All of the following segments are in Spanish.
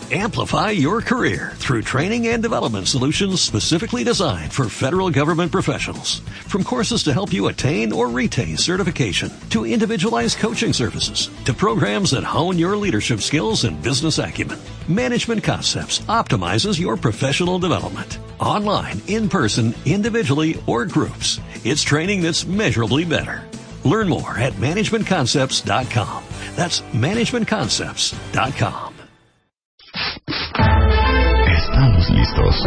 Amplify your career through training and development solutions specifically designed for federal government professionals. From courses to help you attain or retain certification, to individualized coaching services, to programs that hone your leadership skills and business acumen, Management Concepts optimizes your professional development. Online, in person, individually, or groups, it's training that's measurably better. Learn more at managementconcepts.com. That's managementconcepts.com. Estamos listos.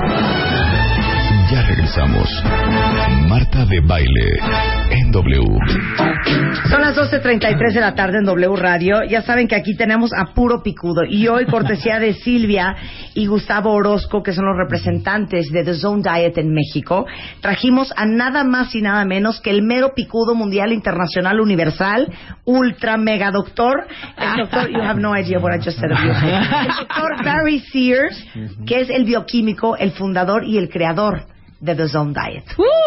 Ya regresamos. Marta de Baile en W. Son las 12:33 de la tarde en W Radio. Ya saben que aquí tenemos a puro picudo. Y hoy, cortesía de Silvia y Gustavo Orozco, que son los representantes de The Zone Diet en México, trajimos a nada más y nada menos que el mero picudo mundial, internacional, universal, ultra mega doctor, el doctor, you have no idea what I just said of you, el doctor Barry Sears, que es el bioquímico, el fundador y el creador de The Zone Diet.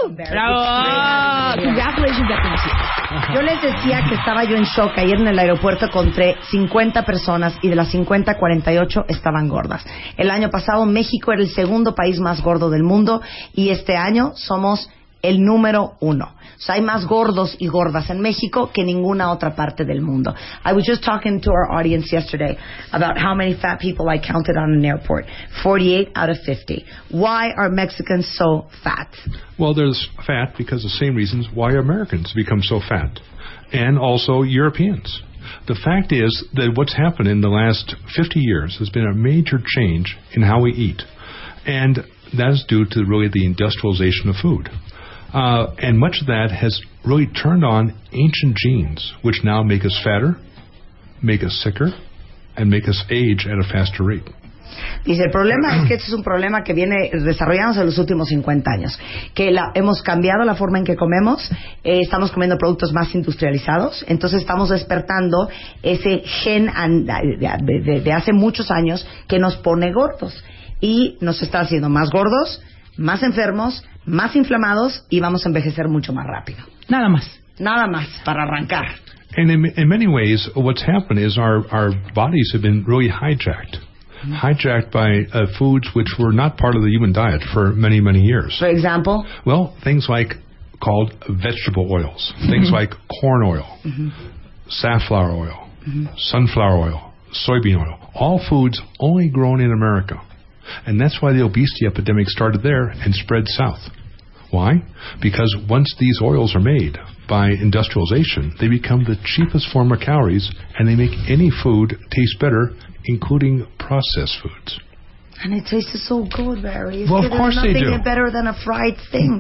¡Bravo! Congratulations, Yo les decía que estaba yo en shock. Ayer en el aeropuerto encontré 50 personas y de las 50, 48 estaban gordas. El año pasado México era el segundo país más gordo del mundo y este año somos el número 1. O sea, hay más gordos y gordas en México que en ninguna otra parte del mundo. I was just talking to our audience yesterday about how many fat people I counted on an airport. 48 out of 50. Why are Mexicans so fat? Well, there's fat because the same reasons why Americans become so fat, and also Europeans. The fact is that what's happened in the last 50 years has been a major change in how we eat, and that is due to really the industrialization of food. And much of that has really turned on ancient genes, which now make us fatter, make us sicker, and make us age at a faster rate. Dice, el problema es que este es un problema que viene desarrollándose en los últimos 50 años. Que hemos cambiado la forma en que comemos, estamos comiendo productos más industrializados, entonces estamos despertando ese gen de hace muchos años que nos pone gordos. Y nos está haciendo más gordos, más enfermos, más inflamados y vamos a envejecer mucho más rápido. Nada más. Nada más para arrancar. And in many ways, what's happened is our bodies have been really hijacked. Hijacked by foods which were not part of the human diet for many, many years. For example? Well, things like called vegetable oils. Things like corn oil, safflower oil, sunflower oil, soybean oil. All foods only grown in America. And that's why the obesity epidemic started there and spread south. Why? Because once these oils are made by industrialization, they become the cheapest form of calories, and they make any food taste better, including processed foods. And it tastes so good, Barry. Well, of course they do. There's nothing better than a fried thing.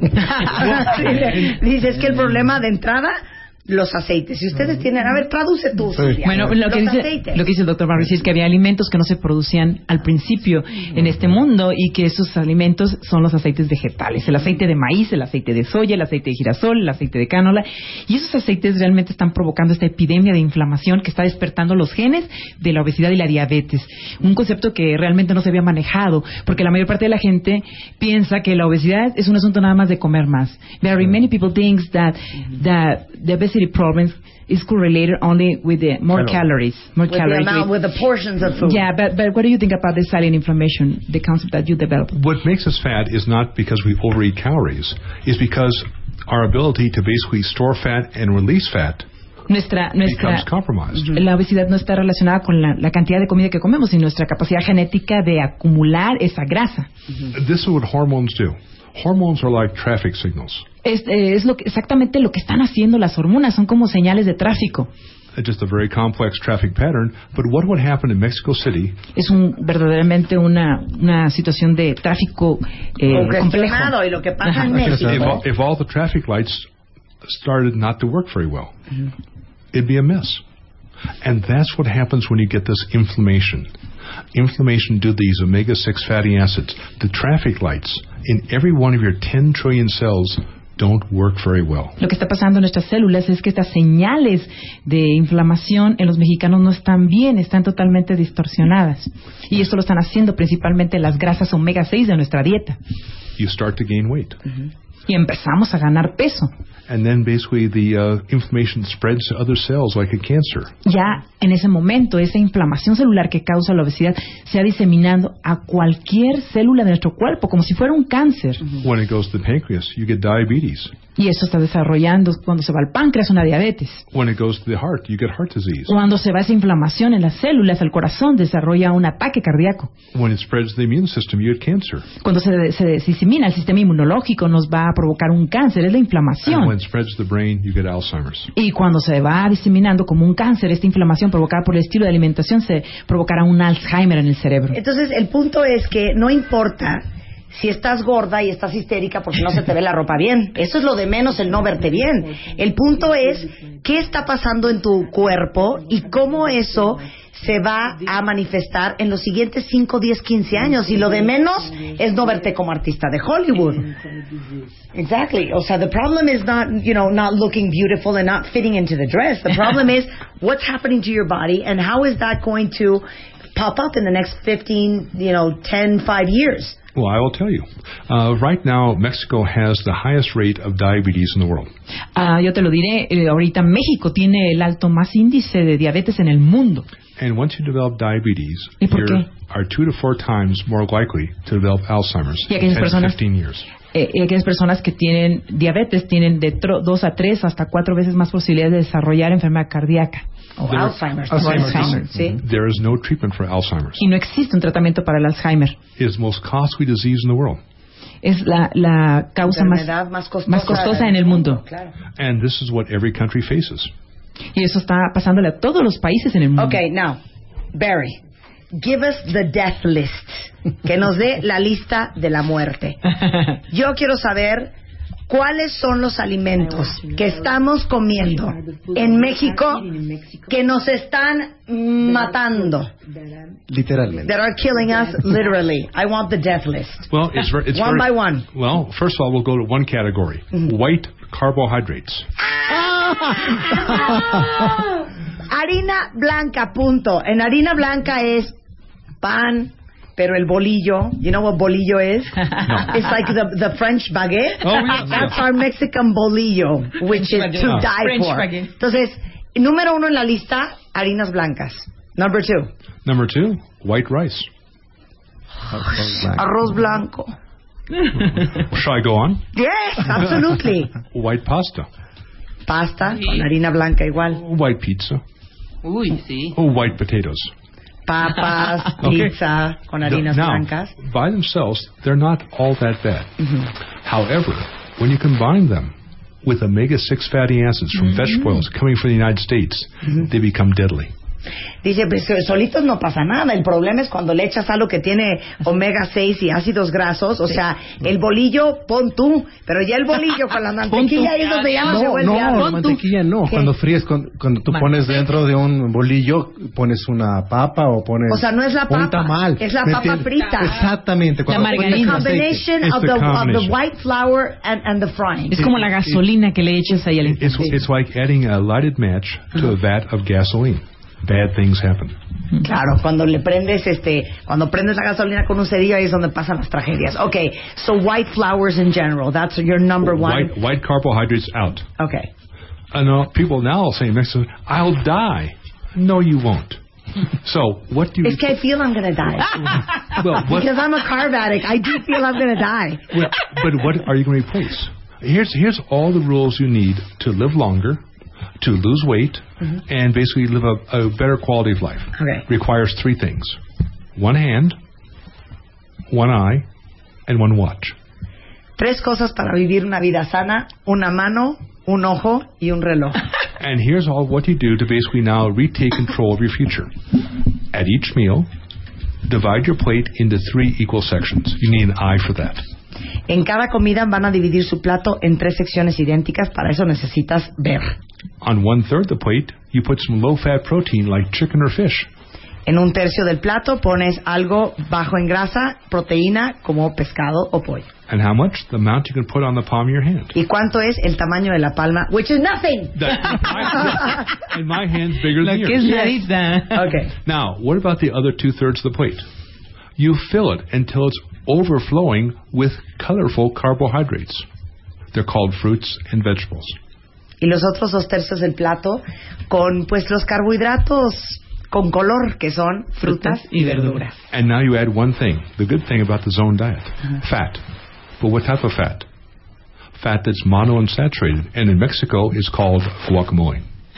Dice, es que el problema de entrada, los aceites. Si ustedes tienen... A ver, traduce tú, Silvia. Bueno, lo que dice el doctor Barry es que había alimentos que no se producían al principio en este mundo y que esos alimentos son los aceites vegetales. El aceite de maíz, el aceite de soya, el aceite de girasol, el aceite de cánola. Y esos aceites realmente están provocando esta epidemia de inflamación que está despertando los genes de la obesidad y la diabetes. Un concepto que realmente no se había manejado, porque la mayor parte de la gente piensa que la obesidad es un asunto nada más de comer más. Very many people think that the obesity problems is correlated only with the more calories, with the portions of food. Yeah, but what do you think about the silent inflammation, the concept that you developed? What makes us fat is not because we overeat calories, it's because our ability to basically store fat and release fat becomes compromised. La obesidad no está relacionada con la cantidad de comida que comemos, sino nuestra capacidad genética de acumular esa grasa. This is what hormones do. Hormones are like traffic signals. Es exactamente lo que están haciendo las hormonas, son como señales de tráfico. Just a very complex traffic pattern, but what would happen in Mexico City? Es verdaderamente una situación de tráfico complejo. Y lo que pasa en México. If all the traffic lights started not to work very well, it'd be a mess. And that's what happens when you get this inflammation. Inflammation due to these omega-6 fatty acids. The traffic lights in every one of your 10 trillion cells don't work very well. Lo que está pasando en nuestras células es que estas señales de inflamación en los mexicanos no están bien, están totalmente distorsionadas. Y esto lo están haciendo principalmente las grasas omega 6 de nuestra dieta. You start to gain weight. Y empezamos a ganar peso. and then basically the inflammation spreads to other cells like a cancer. Ya en ese momento, esa inflamación celular que causa la obesidad se va diseminando a cualquier célula de nuestro cuerpo, como si fuera un cáncer. When it goes to the pancreas, you get diabetes. Y eso está desarrollando cuando se va al páncreas, una diabetes. When it goes to the heart, you get heart disease. Cuando se va esa inflamación en las células, el corazón desarrolla un ataque cardíaco. When it spreads to the immune system, you get cancer. Cuando se disemina el sistema inmunológico, nos va a provocar un cáncer, es la inflamación. And when it spreads to the brain, you get Alzheimer's. Y cuando se va diseminando como un cáncer, esta inflamación provocada por el estilo de alimentación se provocará un Alzheimer en el cerebro. Entonces, el punto es que no importa si estás gorda y estás histérica porque no se te ve la ropa bien. Eso es lo de menos, el no verte bien. El punto es qué está pasando en tu cuerpo y cómo eso se va a manifestar en los siguientes 5, 10, 15 años. Y lo de menos es no verte como artista de Hollywood. Exactly. O sea, the problem is not, not looking beautiful and not fitting into the dress. The problem is what's happening to your body and how is that going to pop up in the next 15, 10, 5 years. Well, I will tell you. Right now, Mexico has the highest rate of diabetes in the world. Yo te lo diré, ahorita México tiene el alto más índice de diabetes en el mundo. And once you develop diabetes, ¿Y por you qué? are 2 to 4 times more likely to develop Alzheimer's Y in aquellas 10 to personas- 15 years. Aquellas personas que tienen diabetes tienen de 2 a 3 hasta 4 veces más posibilidades de desarrollar enfermedad cardíaca. O There- Alzheimer's. Alzheimer's. Sí. There is no treatment for Alzheimer's. Y no existe un tratamiento para el Alzheimer. It is the most costly disease in the world. Es la causa Enfermedad más costosa en el mundo. Claro. And this is what every country faces. Y eso está pasándole a todos los países en el mundo. Okay, now, Barry, give us the death list. Que nos dé la lista de la muerte. Yo quiero saber cuáles son los alimentos que estamos comiendo en México que nos están matando. Literalmente. That are killing us literally. I want the death list. Well, it's One by one. Well, first of all, we'll go to one category: white carbohydrates. Harina blanca, punto. En harina blanca es pan, pero el bolillo, you know what bolillo is? No. It's like the French baguette. Oh, yeah. That's our Mexican bolillo, which is to Ah. die French for. baguette. Entonces, número 1 en la lista, harinas blancas. Number 2, Number 2, white rice. arroz blanco. Shall I go on? Yes, absolutely. White pasta, Pasta con harina blanca igual. white pizza, Uy, sí. white potatoes. Papas, Okay. pizza con harinas Now, blancas. by themselves, they're not all that bad. However, when you combine them with omega-6 fatty acids from vegetable oils coming from the United States, they become deadly. Dice, pues solitos no pasa nada. El problema es cuando le echas algo que tiene omega 6 y ácidos grasos. O sea, el bolillo, pon tú. Pero ya el bolillo con la mantequilla ahí es donde ya no se vuelve No, algo. la mantequilla no. ¿Qué? Cuando fríes, cuando tú pones dentro de un bolillo, pones una papa o pones O sea, no es la un papa, tamal. es la ¿Me papa entiendes? frita. Exactamente. Cuando pones margarina. aceite. Combination It's of the the combination. white flour and the frying. Es como la gasolina que le echas ahí al It's like adding a lighted match to a vat of gasoline. Bad things happen. Claro, cuando le prendes cuando prendes la gasolina con un cerillo ahí es donde pasan las tragedias. Okay, so white flours in general, that's your number 1. White carbohydrates out. Okay. And people now say, Mexican, I'll die. No, you won't. So, what do you... Es que I feel I'm going to die. well, what, Because I'm a carb addict. I do feel I'm going to die. well, but what are you going to replace? Here's all the rules you need to live longer, to lose weight, and basically live a better quality of life. Okay. Requires 3 things: 1 hand, 1 eye, and 1 watch. 3 cosas para vivir una vida sana: una mano, un ojo y un reloj. And here's all what you do to basically now retake control of your future. At each meal, divide your plate into 3 equal sections. You need an eye for that. En cada comida van a dividir su plato en 3 secciones idénticas. Para eso necesitas ver. On 1/3 the plate, you put some low-fat protein like chicken or fish. En 1/3 del plato pones algo bajo en grasa, proteína, como pescado o pollo. And how much? The amount you can put on the palm of your hand. ¿Y cuánto es el tamaño de la palma? Which is nothing. And my hand's bigger than La que es yours. nadita. Okay. Now, what about the other 2/3 of the plate? You fill it until it's overflowing with colorful carbohydrates. They're called fruits and vegetables. Y los otros 2/3 del plato con pues los carbohidratos con color, que son frutas y verduras. And now you add one thing, the good thing about the zone diet, fat. But what type of fat? Fat that's monounsaturated, and in Mexico is called guacamole.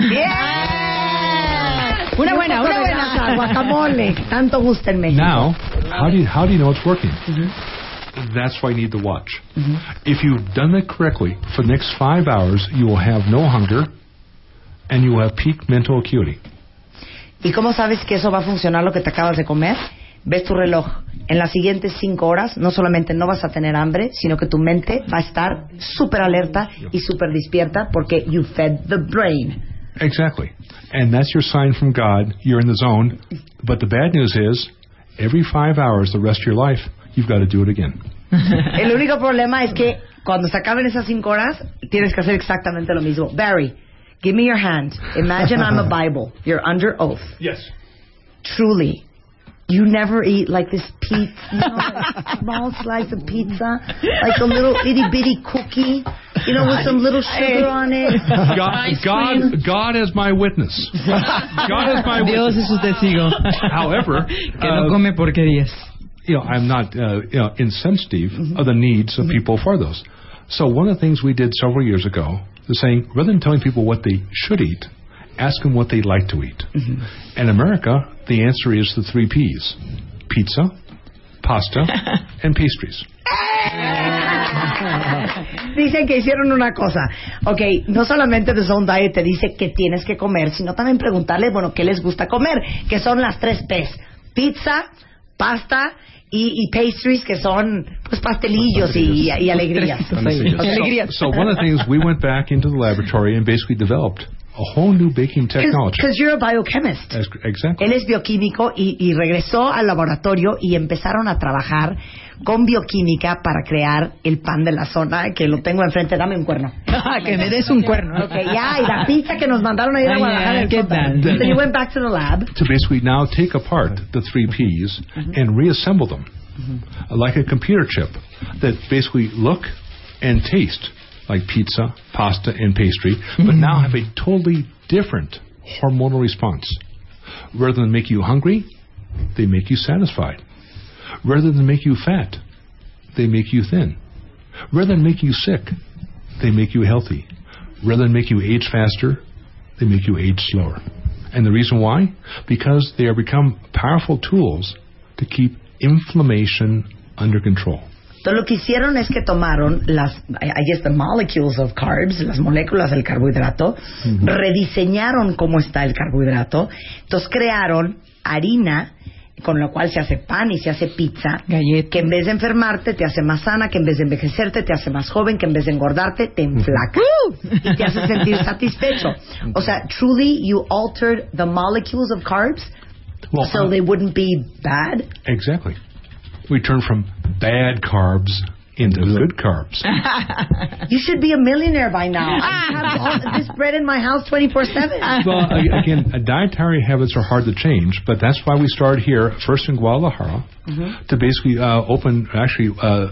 Yeah! Una buena guacamole. Tanto gusta en México. Now, how do you know it's working? That's why you need the watch. If you've done it correctly, for the next 5 hours, you will have no hunger, and you will have peak mental acuity. ¿Y cómo sabes que eso va a funcionar lo que te acabas de comer? Ves tu reloj. En las siguientes 5 horas, no solamente no vas a tener hambre, sino que tu mente va a estar súper alerta y súper despierta porque you fed the brain. Exactly. And that's your sign from God. You're in the zone. But the bad news is, every 5 hours, the rest of your life, you've got to do it again. El único problema es que cuando se acaben esas 5 horas, tienes que hacer exactamente lo mismo. Barry, give me your hand. Imagine I'm a Bible. You're under oath. Yes. Truly, you never eat like this pizza, like a small slice of pizza, like a little itty bitty cookie, with some little sugar on it. God is my witness. God is my witness. Dios es su testigo. However, que no come porquerías. I'm not insensitive of the needs of people for those. So one of the things we did several years ago is saying, rather than telling people what they should eat, ask them what they like to eat. In America, the answer is the 3 Ps: pizza, pasta, and pastries. Dicen que hicieron una cosa. Okay, no solamente The Zone Diet te dice qué tienes que comer, sino también preguntarles, qué les gusta comer, que son las 3 Ps: pizza, pasta y pastries, que son pues pastelillos y alegrías. So one of the things, we went back into the laboratory and basically developed a whole new baking technology. Because you're a biochemist. Exactly. Él es bioquímico y regresó al laboratorio y empezaron a trabajar con bioquímica para crear el pan de la zona, que lo tengo enfrente. Dame un cuerno. Que me des un cuerno. Okay, y la pizza que nos mandaron a ir a Guadalajara. ¿Qué tal? So you went back to the lab. To basically now take apart the 3 Ps and reassemble them like a computer chip that basically look and taste like pizza, pasta, and pastry, but now have a totally different hormonal response. Rather than make you hungry, they make you satisfied. Rather than make you fat, they make you thin. Rather than make you sick, they make you healthy. Rather than make you age faster, they make you age slower. And the reason why? Because they are become powerful tools to keep inflammation under control. Entonces lo que hicieron es que tomaron the molecules of carbs, las moléculas del carbohidrato, rediseñaron cómo está el carbohidrato, entonces crearon harina con lo cual se hace pan y se hace pizza, galleta, que en vez de enfermarte te hace más sana, que en vez de envejecerte te hace más joven, que en vez de engordarte te enflaca y te hace sentir satisfecho. O sea, truly you altered the molecules of carbs so they wouldn't be bad. Exactly. We turn from bad carbs into good carbs. You should be a millionaire by now. I have all this bread in my house 24/7. Well, again, dietary habits are hard to change, but that's why we started here, first in Guadalajara, to basically open actually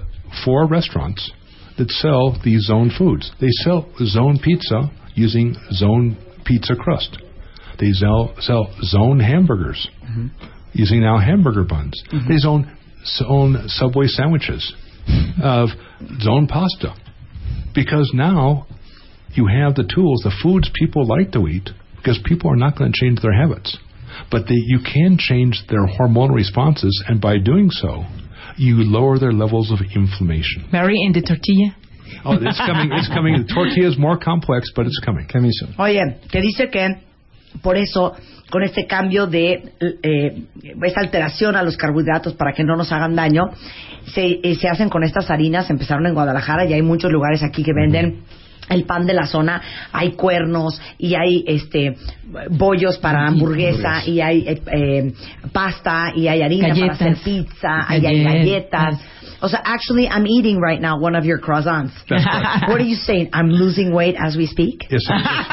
4 restaurants that sell these zone foods. They sell zone pizza using zone pizza crust. They sell zone hamburgers using now hamburger buns. They zone Subway sandwiches of zone pasta, because now you have the tools, the foods people like to eat, because people are not going to change their habits, but you can change their hormonal responses, and by doing so you lower their levels of inflammation. Mary, in the tortilla? Oh, it's coming. The tortilla is more complex, but it's coming. Oye, que dice que por eso, con este cambio de esta alteración a los carbohidratos para que no nos hagan daño, se hacen con estas harinas. Empezaron en Guadalajara y hay muchos lugares aquí que venden el pan de la zona. Hay cuernos y hay bollos para hamburguesa y hay pasta y hay harina galletas, para hacer pizza, hay galletas. O sea, actually, I'm eating right now one of your croissants. That's right. What are you saying? I'm losing weight as we speak? Yes.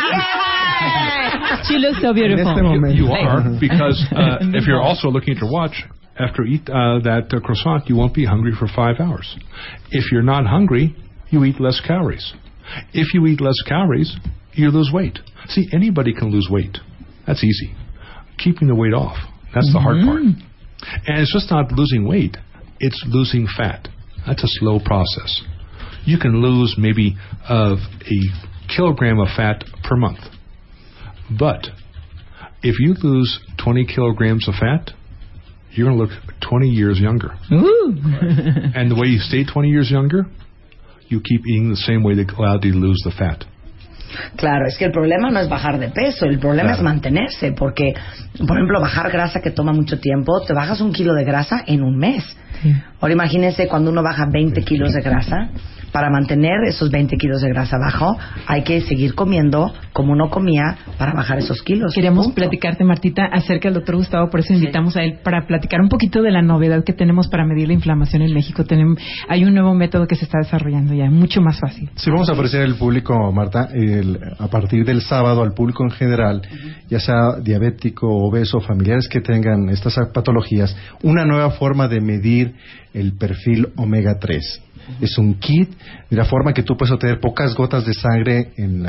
She looks so beautiful. You are, because if you're also looking at your watch, after you eat that croissant, you won't be hungry for 5 hours. If you're not hungry, you eat less calories. If you eat less calories, you lose weight. See, anybody can lose weight. That's easy. Keeping the weight off, that's the hard part. And it's just not losing weight, it's losing fat. That's a slow process. You can lose maybe a kilogram of fat per month. But if you lose 20 kilograms of fat, you're going to look 20 years younger. Ooh. And the way you stay 20 years younger, you keep eating the same way that allowed you to lose the fat. Claro, es que el problema no es bajar de peso, el problema es mantenerse, porque, por ejemplo, bajar grasa que toma mucho tiempo, te bajas 1 kilo de grasa en un mes. Sí. Ahora imagínense cuando uno baja 20 kilos de grasa, para mantener esos 20 kilos de grasa abajo, hay que seguir comiendo como uno comía para bajar esos kilos. Queríamos platicarte, Martita, acerca del doctor Gustavo, por eso invitamos a él para platicar un poquito de la novedad que tenemos para medir la inflamación en México. Hay un nuevo método que se está desarrollando ya, mucho más fácil. Sí, vamos a ofrecer al público, Marta, a partir del sábado al público en general, ya sea diabético, obeso, familiares que tengan estas patologías, una nueva forma de medir el perfil omega 3. Es un kit de la forma que tú puedes obtener pocas gotas de sangre en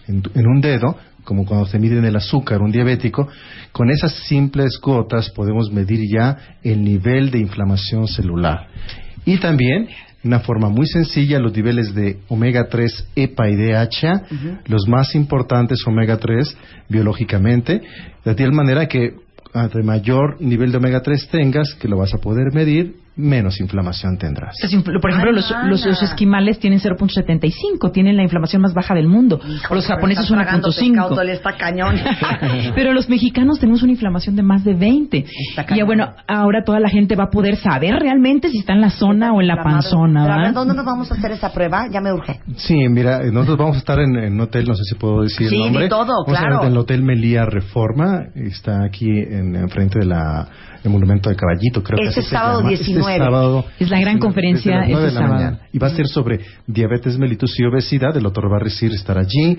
un dedo, como cuando se mide el azúcar, un diabético. Con esas simples gotas podemos medir ya el nivel de inflamación celular. Y también, de una forma muy sencilla, los niveles de omega 3, EPA y DHA, los más importantes omega 3 biológicamente, de tal manera que entre mayor nivel de omega 3 tengas, que lo vas a poder medir, menos inflamación tendrás. Por ejemplo, los esquimales tienen 0.75, tienen la inflamación más baja del mundo. O los japoneses 1.5. Está cañón. Pero los mexicanos tenemos una inflamación de más de 20. Y bueno, ahora toda la gente va a poder saber realmente si está en la zona o en la panzona, ¿verdad? ¿Dónde nos vamos a hacer esa prueba? Ya me urge. Sí, mira, nosotros vamos a estar en un hotel, no sé si puedo decir el nombre. Sí, todo, vamos a estar en el Hotel Melía Reforma, está aquí en frente de el Monumento de Caballito, creo que así se llama. 19. Sábado, es la gran conferencia este sábado. Mañana. Y va a ser sobre diabetes mellitus y obesidad. El doctor Barricir estará allí.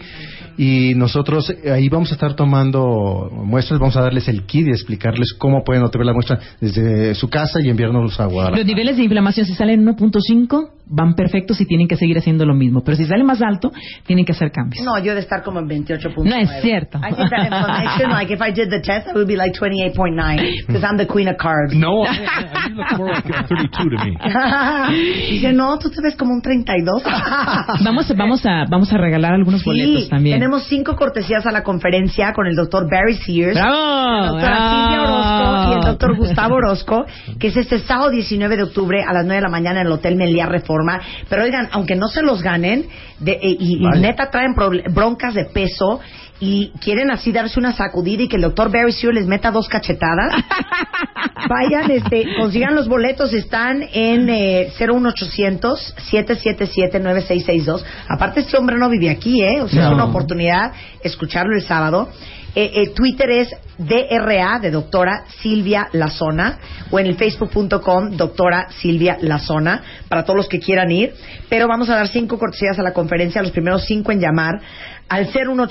Y nosotros ahí vamos a estar tomando muestras. Vamos a darles el kit y explicarles cómo pueden obtener la muestra desde su casa y enviárnoslos a Guadalajara. Los niveles de inflamación, si salen 1.5, van perfectos y tienen que seguir haciendo lo mismo. Pero si sale más alto, tienen que hacer cambios. No, yo de estar como en 28.9. No es cierto. I think that information, like if I did the test, I would be like 28.9 because I'm the queen of carbs. No, you look more like 32 to me. Dice, no, tú te ves como un 32. Vamos a regalar algunos boletos también. Tenemos 5 cortesías a la conferencia con el doctor Barry Sears, ¡bravo! la doctora Silvia Orozco y el doctor Gustavo Orozco, que es este sábado 19 de octubre a las 9 de la mañana en el Hotel Melía Reforma. Pero oigan, aunque no se los ganen, y neta traen broncas de peso y quieren así darse una sacudida y que el doctor Barry Sears les meta 2 cachetadas, vayan, consigan los boletos, están en 01800-777-9662. Aparte, este hombre no vive aquí, o sea, es una oportunidad escucharlo el sábado. Twitter es DRA, de doctora Silvia Lazona, o en el facebook.com doctora Silvia Lazona, para todos los que quieran ir. Pero vamos a dar 5 cortesías a la conferencia, los primeros 5 en llamar al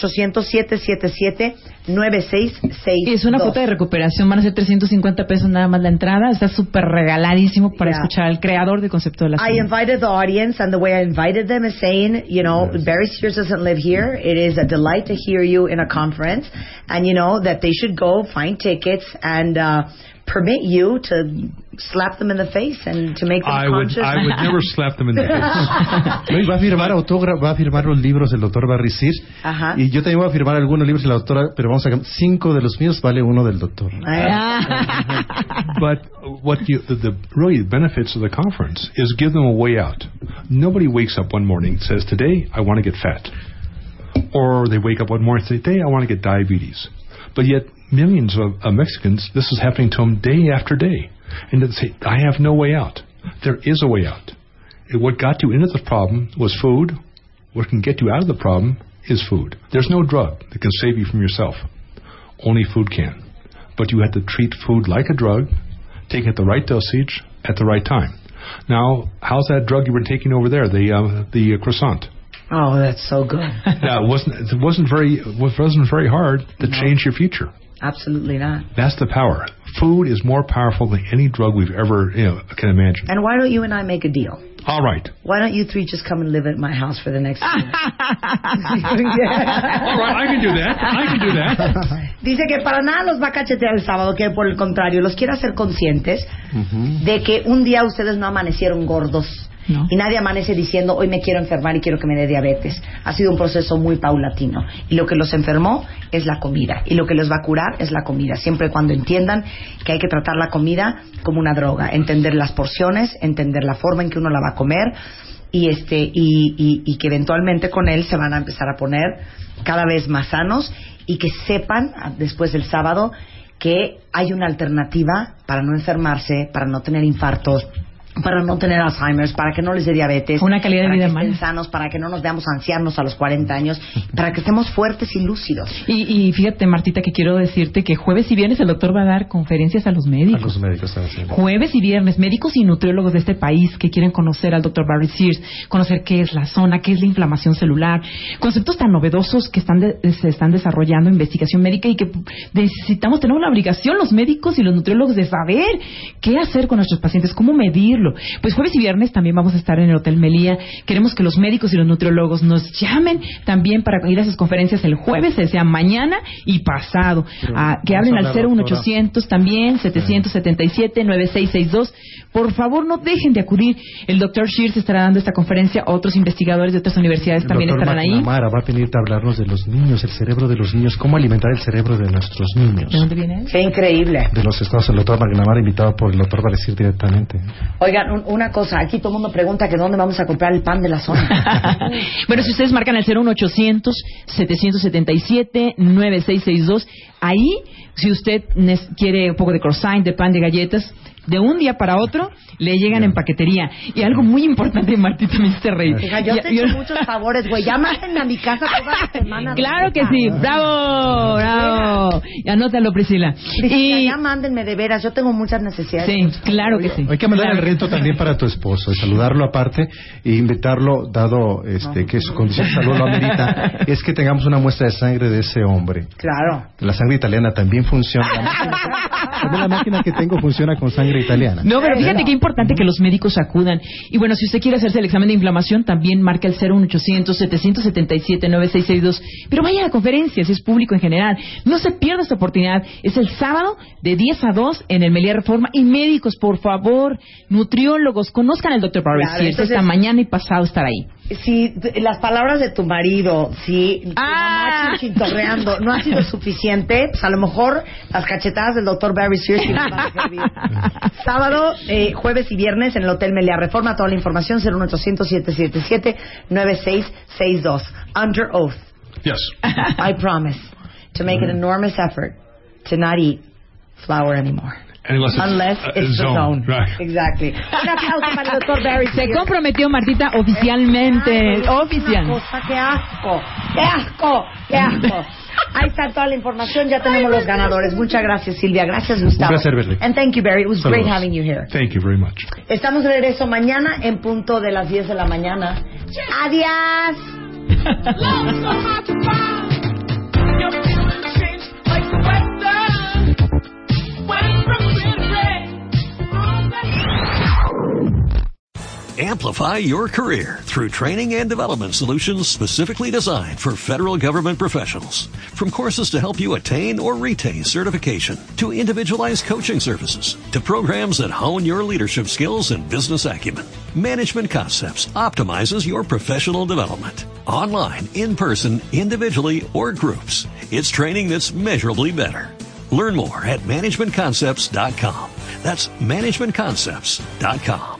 01800-777-9662. Es una cuota de recuperación, van a ser $350 nada más la entrada. Está súper regaladísimo para escuchar al creador del concepto de la I invited the audience, and the way I invited them is saying, Barry Sears doesn't live here. It is a delight to hear you in a conference, and that they should go find tickets and permit you to slap them in the face and to make them conscious. I would never slap them in the face. Va a firmar los libros del doctor Barricir. Y yo también voy a firmar algunos libros de la doctora, pero vamos a 5 de los míos vale uno del doctor. But what the really benefits of the conference is give them a way out. Nobody wakes up one morning and says, today I want to get fat. Or they wake up one morning and say, today I want to get diabetes. But yet millions of Mexicans, this is happening to them day after day. And they say, I have no way out. There is a way out. What got you into the problem was food. What can get you out of the problem is food. There's no drug that can save you from yourself. Only food can. But you have to treat food like a drug, take it at the right dosage at the right time. Now, how's that drug you were taking over there, the croissant? Oh, that's so good. It wasn't very hard to change your future. Absolutely not. That's the power. Food is more powerful than any drug we've ever can imagine. And why don't you and I make a deal? All right. Why don't you three just come and live at my house for the next year? All right, I can do that. Dice que para nada los va a cachetear el sábado, que por el contrario, los quiere hacer conscientes de que un día ustedes no amanecieron gordos. No. Y nadie amanece diciendo, hoy me quiero enfermar y quiero que me dé diabetes. Ha sido un proceso muy paulatino. Y lo que los enfermó es la comida. Y lo que les va a curar es la comida. Siempre y cuando entiendan que hay que tratar la comida como una droga. Entender las porciones, entender la forma en que uno la va a comer. Y que eventualmente con él se van a empezar a poner cada vez más sanos. Y que sepan, después del sábado, que hay una alternativa para no enfermarse, para no tener infartos, para no tener Alzheimer's, para que no les dé diabetes, una calidad de vida para que estén sanos, para que no nos veamos ancianos a los 40 años, para que estemos fuertes y lúcidos. Y fíjate, Martita, que quiero decirte que jueves y viernes el doctor va a dar conferencias a los médicos. A los médicos también. Jueves y viernes, médicos y nutriólogos de este país que quieren conocer al doctor Barry Sears, conocer qué es la zona, qué es la inflamación celular, conceptos tan novedosos que se están desarrollando en investigación médica y que necesitamos, tenemos la obligación los médicos y los nutriólogos de saber qué hacer con nuestros pacientes, cómo medirlo. Pues jueves y viernes también vamos a estar en el Hotel Meliá. Queremos que los médicos y los nutriólogos nos llamen también para ir a sus conferencias el jueves, sea mañana y pasado. Que hablen al 01800 también, 777-9662. Por favor, no dejen de acudir. El doctor Shears estará dando esta conferencia. Otros investigadores de otras universidades también estarán ahí. Mara va a venir a hablarnos de los niños, el cerebro de los niños, cómo alimentar el cerebro de nuestros niños. ¿De dónde viene? Qué increíble. De los estados, el doctor McNamara, invitado por el doctor Valecir directamente. Oigan, una cosa, aquí todo el mundo pregunta que dónde vamos a comprar el pan de la zona. Bueno, si ustedes marcan el 01800-777-9662, ahí, si usted quiere un poco de croissant, de pan, de galletas, de un día para otro le llegan en paquetería. Y algo muy importante, Martita, me hiciste reír. Yo te he hecho muchos favores, güey. Ya mándenme a mi casa toda la semana. Claro que sí. ¡Bravo! ¡Bravo! Anótalo, Priscila. Y ya mándenme de veras. Yo tengo muchas necesidades. Sí, claro que sí. Hay que mandar el reto también para tu esposo, saludarlo aparte e invitarlo, dado que su condición de salud lo amerita, es que tengamos una muestra de sangre de ese hombre. Claro. La sangre italiana también funciona. La máquina que tengo funciona con sangre italiana. No, pero fíjate qué importante que los médicos acudan. Y bueno, si usted quiere hacerse el examen de inflamación, también marca el 01800-777-9662. Pero vaya a la conferencia, si es público en general. No se pierda esta oportunidad. Es el sábado de 10 a 2 en el Meliá Reforma. Y médicos, por favor, nutriólogos, conozcan al Dr. Barry Sears. Esta mañana y pasado estar ahí. Si las palabras de tu marido, si tu mamá chintorreando no ha sido suficiente, pues a lo mejor las cachetadas del Dr. Barry Sears sí van a servir. Sábado, jueves y viernes en el Hotel Meliá Reforma. Toda la información 01800-777-9662. Under oath. Yes. I promise to make an enormous effort to not eat flour anymore. Unless it's the zone. Right. Exactly. Un aplauso para el Dr. Barry. Se comprometió, Martita, oficialmente. Oficial. ¡Qué asco! ¡Qué asco! ¡Qué asco! Ahí está toda la información. Ya tenemos los ganadores. Muchas gracias, Silvia. Gracias, Gustavo. Un placer verle. And thank you, Barry. It was great having you here. Thank you very much. Estamos de regreso mañana en punto de las 10 de la mañana. ¡Adiós! Amplify your career through training and development solutions specifically designed for federal government professionals. From courses to help you attain or retain certification, to individualized coaching services, to programs that hone your leadership skills and business acumen, Management Concepts optimizes your professional development. Online, in person, individually, or groups, it's training that's measurably better. Learn more at managementconcepts.com. That's managementconcepts.com.